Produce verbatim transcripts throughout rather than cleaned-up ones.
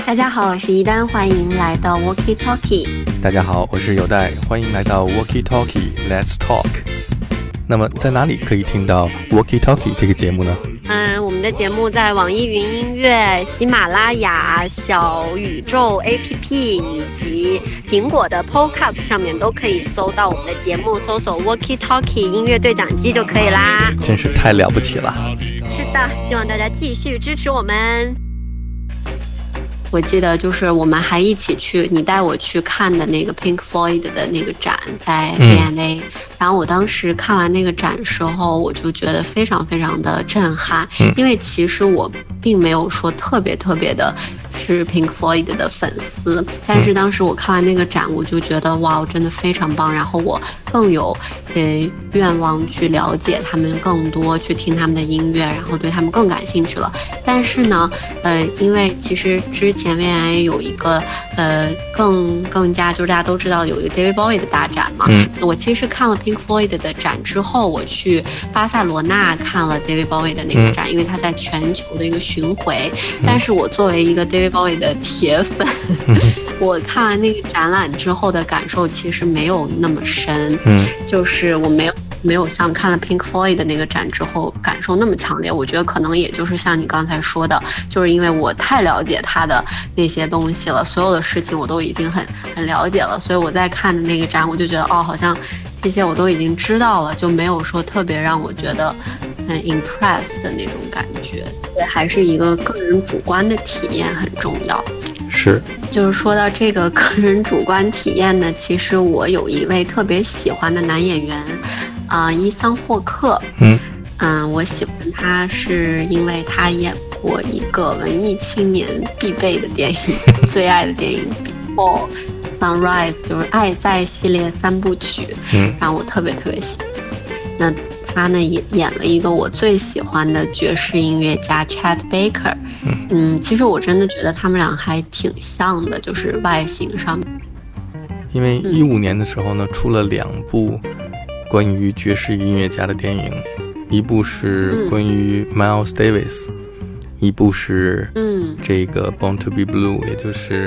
大家好，我是一丹，欢迎来到 Walkie Talkie。 大家好，我是有代，欢迎来到 Walkie Talkie Let's Talk。 那么在哪里可以听到 Walkie Talkie 这个节目呢？ 嗯，我们的节目在网易云音乐、喜马拉雅、小宇宙 A P P 以及苹果的 Podcast 上面都可以搜到我们的节目，搜索 Walkie Talkie 音乐对讲机就可以啦。 真是太了不起了。 是的，希望大家继续支持我们。我记得就是我们还一起去，你带我去看的那个 Pink Floyd 的那个展在 V and A、嗯、然后我当时看完那个展时候，我就觉得非常非常的震撼、嗯、因为其实我并没有说特别特别的是 Pink Floyd 的粉丝，但是当时我看完那个展，我就觉得哇，真的非常棒，然后我更有呃愿望去了解他们更多，去听他们的音乐，然后对他们更感兴趣了。但是呢呃因为其实之前前面也有一个呃更更加就是大家都知道有一个 David Bowie 的大展嘛、嗯、我其实看了 Pink Floyd 的展之后，我去巴塞罗那看了 David Bowie 的那个展、嗯、因为他在全球的一个巡回、嗯、但是我作为一个 David Bowie 的铁粉、嗯、我看完那个展览之后的感受其实没有那么深，嗯，就是我没有没有像看了 Pink Floyd 的那个展之后感受那么强烈。我觉得可能也就是像你刚才说的，就是因为我太了解他的那些东西了，所有的事情我都已经很很了解了，所以我在看的那个展我就觉得哦，好像这些我都已经知道了，就没有说特别让我觉得很 impress 的那种感觉。对，还是一个个人主观的体验很重要。 是， 就是说到这个个人主观体验呢，其实我有一位特别喜欢的男演员啊、呃，伊桑霍克。嗯嗯，我喜欢他是因为他演过一个文艺青年必备的电影最爱的电影 Before Sunrise， 就是爱在系列三部曲，嗯，让我特别特别喜欢。那他呢也演了一个我最喜欢的爵士音乐家 Chet Baker。 嗯, 嗯其实我真的觉得他们俩还挺像的，就是外形上面。 因为一五年的时候呢、嗯、出了两部关于爵士音乐家的电影，一部是关于 Miles Davis、嗯、一部是嗯这个 Born to be Blue， 也就是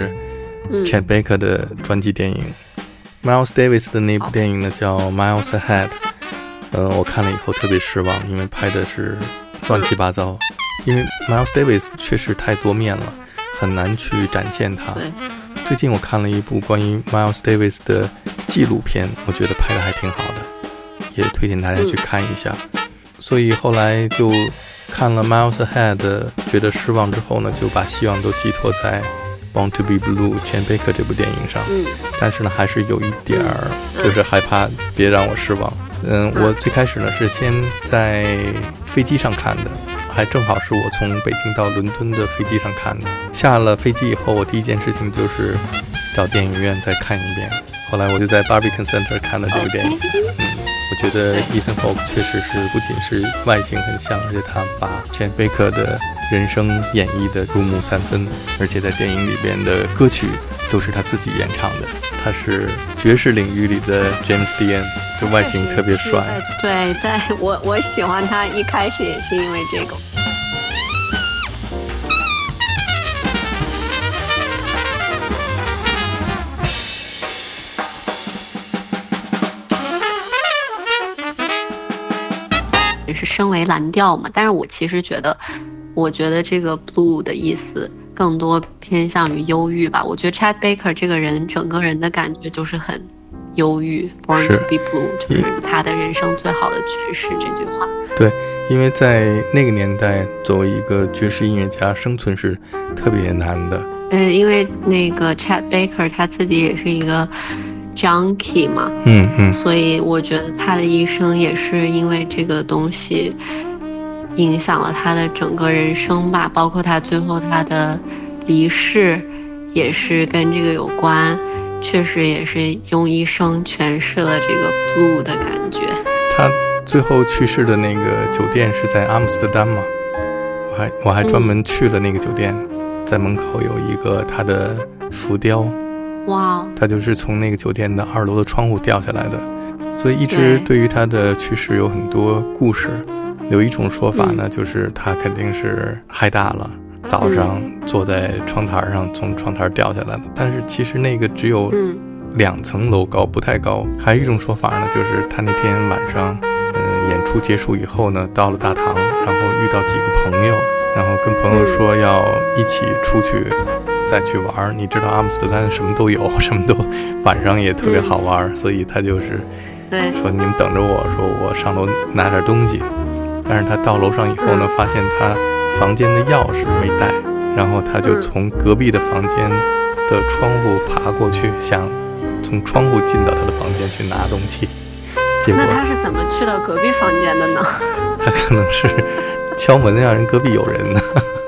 Chet Baker 的专辑电影、嗯、Miles Davis 的那部电影呢叫 Miles Ahead。呃，我看了以后特别失望，因为拍的是乱七八糟。因为 Miles Davis 确实太多面了，很难去展现他。最近我看了一部关于 Miles Davis 的纪录片，我觉得拍的还挺好的，也推荐大家去看一下。嗯、所以后来就看了 Miles Ahead， 觉得失望之后呢，就把希望都寄托在 Born to be Blue Chet Baker 这部电影上。嗯、但是呢，还是有一点儿，就是害怕别让我失望。嗯，我最开始呢是先在飞机上看的，还正好是我从北京到伦敦的飞机上看的。下了飞机以后，我第一件事情就是找电影院再看一遍。后来我就在 Barbican Center 看了这个电影。嗯，我觉得 Ethan Hawke 确实是不仅是外形很像，而且他把 Chet Baker 的人生演绎的入木三分，而且在电影里边的歌曲都是他自己演唱的。他是爵士领域里的 James Dean， 就外形特别帅。 对，在我我喜欢他一开始也是因为这个。也是身为蓝调嘛，但是我其实觉得，我觉得这个 blue 的意思更多偏向于忧郁吧。我觉得 Chet Baker 这个人整个人的感觉就是很忧郁 ，Born to be blue 就是他的人生最好的诠释这句话。 对，因为在那个年代，作为一个爵士音乐家，生存是特别难的。 嗯，因为那个 Chet Baker 他自己也是一个 junkie 嘛， 嗯嗯， 所以我觉得他的一生也是因为这个东西影响了他的整个人生吧，包括他最后他的离世也是跟这个有关，确实也是用一生诠释了这个 blue 的感觉。 他最后去世的那个酒店是在阿姆斯特丹嘛，我还我还专门去了那个酒店、嗯、在门口有一个他的浮雕， 哇， 他就是从那个酒店的二楼的窗户掉下来的。所以一直对于他的去世有很多故事。有一种说法呢、嗯、就是他肯定是嗨大了， 早上坐在窗台上从窗台掉下来的，但是其实那个只有两层楼高，不太高。还有一种说法呢，就是他那天晚上呃，演出结束以后呢，到了大堂，然后遇到几个朋友，然后跟朋友说要一起出去再去玩。你知道阿姆斯特丹什么都有，什么都晚上也特别好玩，所以他就是说你们等着我，说我上楼拿点东西。但是他到楼上以后呢，发现他房间的钥匙没带，然后他就从隔壁的房间的窗户爬过去，想从窗户进到他的房间去拿东西。结果那他是怎么去到隔壁房间的呢？ 他可能是敲门让人隔壁有人呢。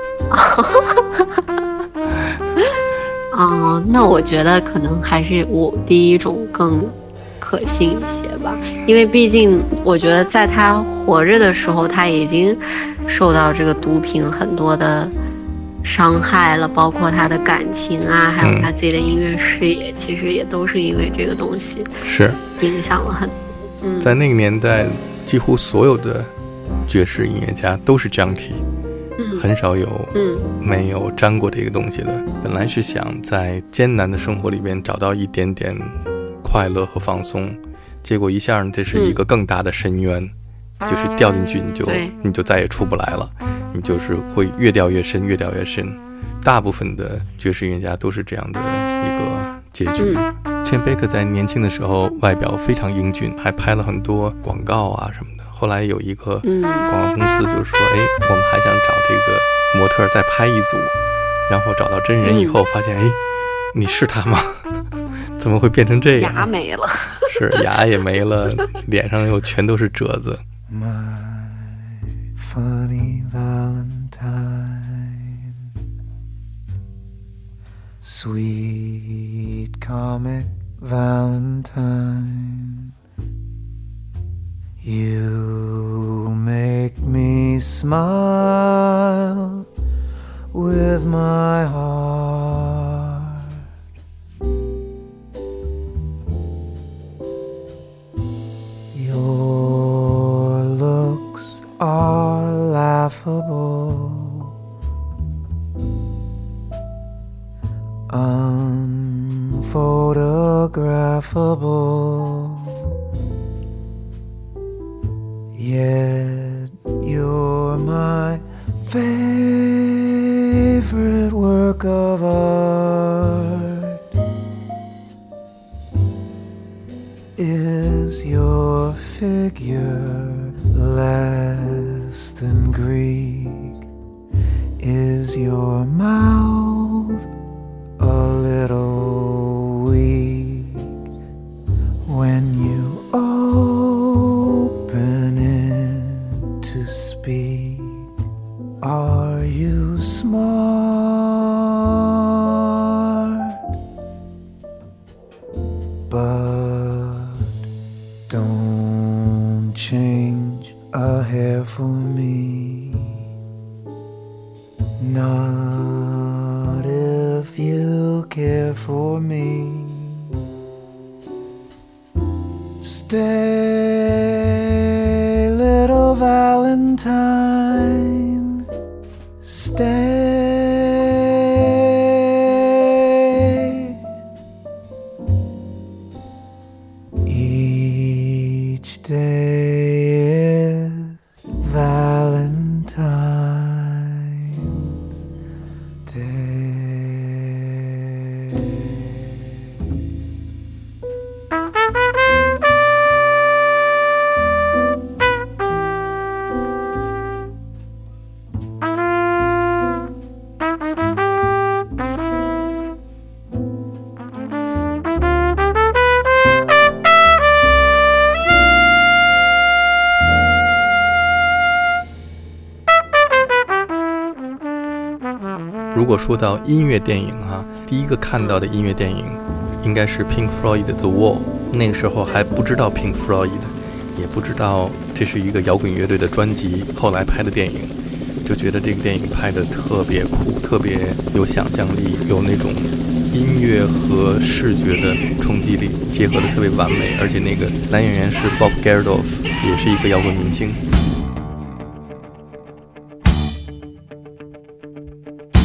哦，那我觉得可能还是我第一种更可信一些吧，因为毕竟我觉得在他活着的时候，他已经受到这个毒品很多的伤害了，包括他的感情啊，还有他自己的音乐事业，嗯、其实也都是因为这个东西是影响了很多。嗯， 在那个年代，几乎所有的爵士音乐家都是 junkie。 嗯、 很少有没有沾过这个东西的。本来是想在艰难的生活里边找到一点点快乐和放松，结果一下这是一个更大的深渊，嗯、就是掉进去你就你就再也出不来了，你就是会越掉越深，越掉越深。大部分的爵士音乐家都是这样的一个结局。 嗯、 Chet Baker 在年轻的时候外表非常英俊，还拍了很多广告啊什么的。后来有一个广告公司就说，哎，我们还想找这个模特再拍一组，然后找到真人以后发现，哎，你是他吗？怎么会变成这样？ 牙没了。 是，牙也没了，脸上又全都是褶子。 My funny Valentine, sweet comic Valentine, you make me smile with my heart. Your looks are laughable, unphotographable, yet you're my favorite work of art. Is your figure less than Greek? Is your mouth a little weak when you open it to speak? Are you smart? But don't change a hair for me, not if you care for me. Stay, little Valentine, stay. Each day is Valentine's Day. 如果说到音乐电影啊，第一个看到的音乐电影应该是 Pink Floyd 的 The Wall。 那个时候还不知道 Pink Floyd， 也不知道这是一个摇滚乐队的专辑，后来拍的电影，就觉得这个电影拍得特别酷，特别有想象力，有那种音乐和视觉的冲击力结合得特别完美，而且那个男演员是 Bob Geldof， 也是一个摇滚明星。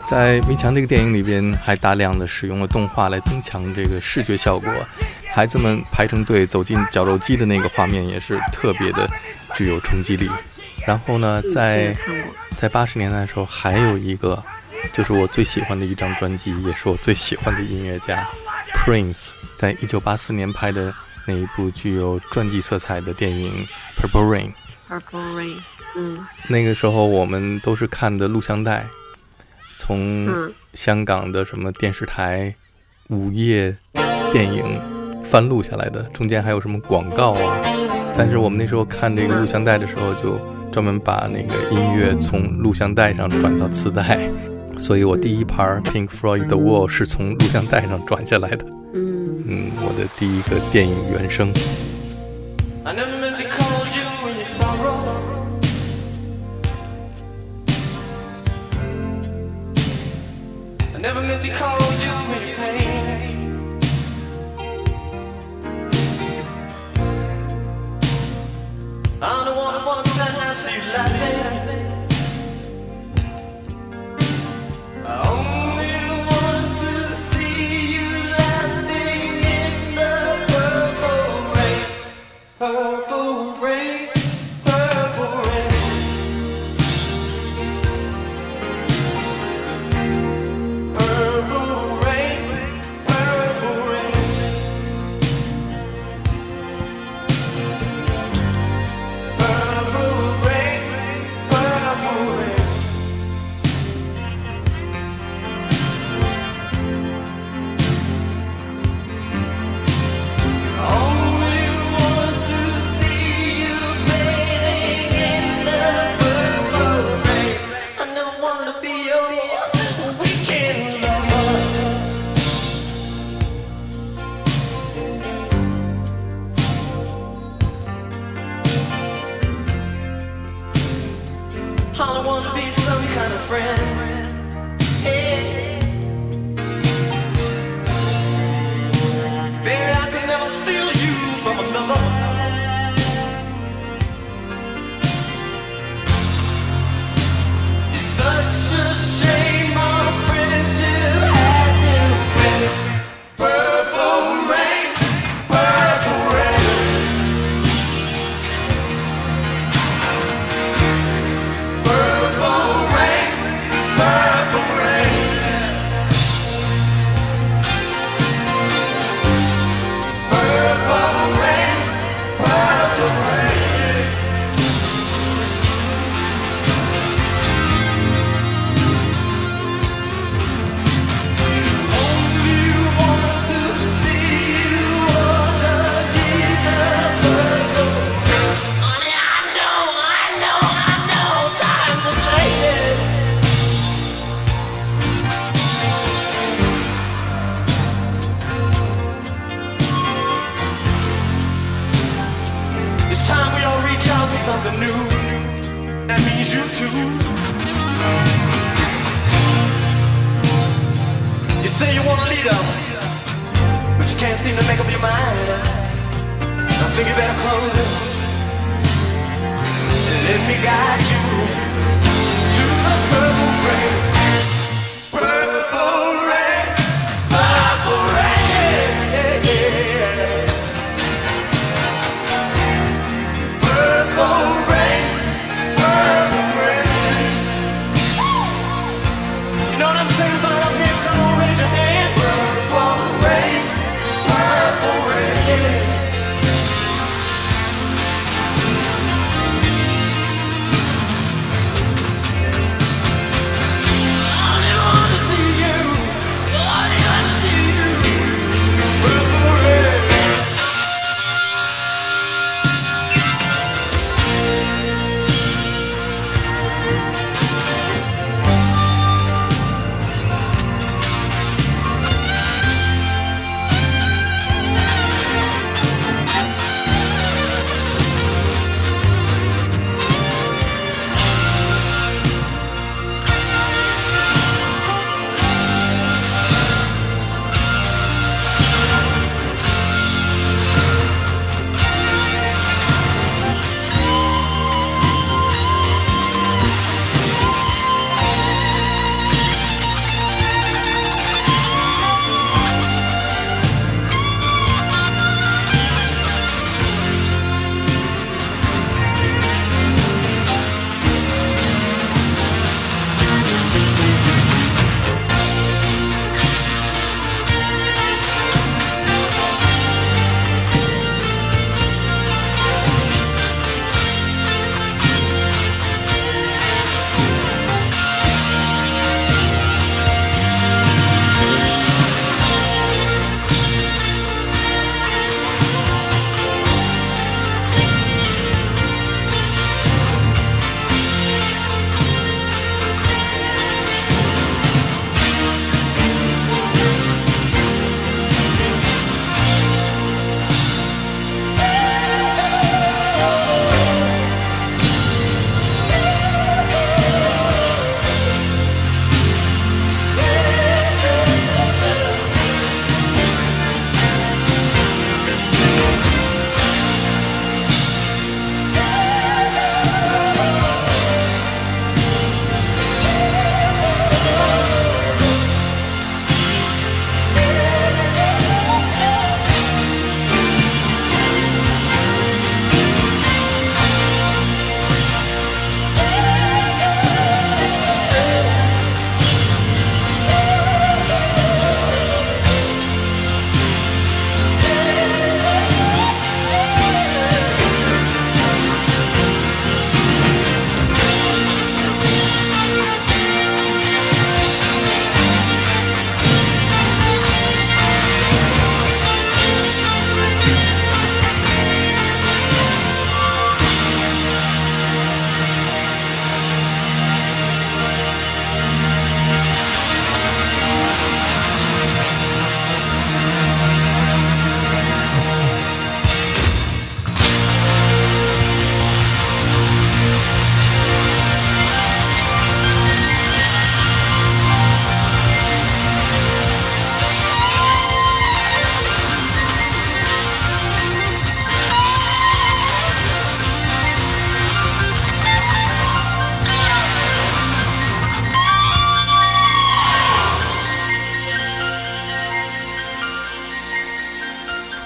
在《迷墙》这个电影里边，还大量的使用了动画来增强这个视觉效果。孩子们排成队走进绞肉机的那个画面也是特别的具有冲击力。然后呢，在在八十年代的时候，还有一个就是我最喜欢的一张专辑，也是我最喜欢的音乐家 Prince， 在一九八四年拍的那一部具有传记色彩的电影 Purple Rain。Purple Rain， 嗯， 那个时候我们都是看的录像带。从香港的什么电视台午夜电影翻录下来的，中间还有什么广告啊。但是我们那时候看这个录像带的时候，就专门把那个音乐从录像带上转到磁带，所以我第一盘 Pink Floyd 的 Wall 是从录像带上转下来的。 嗯嗯，我的第一个电影原声。 Never meant to call you when you're pain. I'm the one who wants to see you laughing. I only want to see you laughing in the purple rain. Purple rain, purple rain. Something new, that means you too. You say you want a leader, but you can't seem to make up your mind. I think you better close it and let me guide you to the purple rain. Purple rain, purple rain, yeah, yeah. Purple rain, purple rain. You know what I'm saying about up here? Come on, raise your hand. Purple rain, purple rain.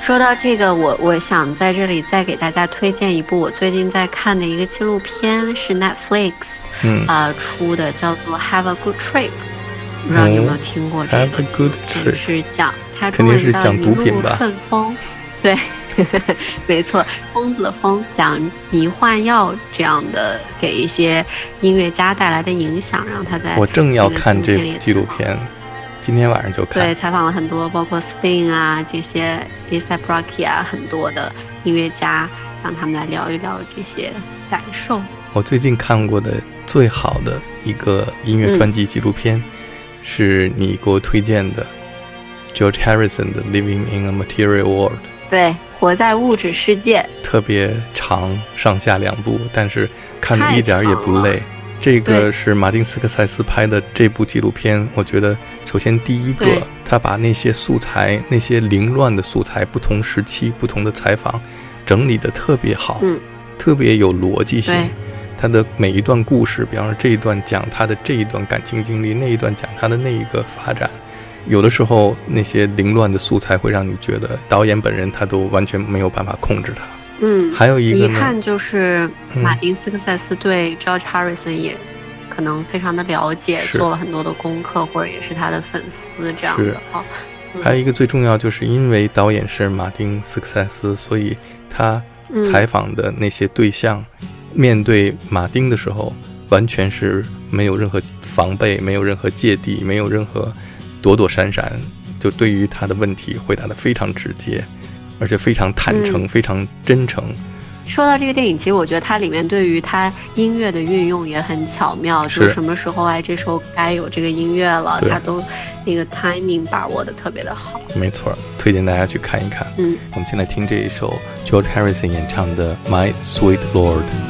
说到这个，我我想在这里再给大家推荐一部我最近在看的一个纪录片，是 Netflix 嗯呃出的，叫做 Have a Good Trip。不知道你有没有听过这个？ Have a Good Trip 是讲它肯定是讲毒品吧？ 顺风，对，没错，疯子的疯，讲迷幻药这样的给一些音乐家带来的影响，让他在我正要看这部纪录片，今天晚上就看。 对，采访了很多，包括 Sting 啊这些 A$AP Rocky 啊很多的音乐家，让他们来聊一聊这些感受。 我最近看过的最好的一个音乐专辑纪录片。嗯是你给我推荐的 George Harrison 的 Living in a Material World。 对，活在物质世界， 特别长，上下两部，但是看得一点也不累。这个是马丁斯科塞斯拍的这部纪录片，我觉得首先第一个他把那些素材，那些凌乱的素材，不同时期不同的采访整理得特别好、嗯、特别有逻辑性。他的每一段故事，比方说这一段讲他的这一段感情经历，那一段讲他的那一个发展，有的时候那些凌乱的素材会让你觉得导演本人他都完全没有办法控制它。 嗯， 还有一个呢， 一看就是马丁斯科塞斯对 George Harrison 也可能非常的了解，做了很多的功课，或者也是他的粉丝这样的。哦嗯、 还有一个最重要，就是因为导演是马丁斯科塞斯，所以他采访的那些对象、嗯面对马丁的时候完全是没有任何防备，没有任何芥蒂，没有任何躲躲闪闪，就对于他的问题回答得非常直接，而且非常坦诚、嗯、非常真诚。 说到这个电影，其实我觉得它里面对于它音乐的运用也很巧妙，就什么时候哎这时候该有这个音乐了，它都那个 timing 把握的特别的好。 没错，推荐大家去看一看。嗯，我们先来听这一首 George Harrison 演唱的 My Sweet Lord。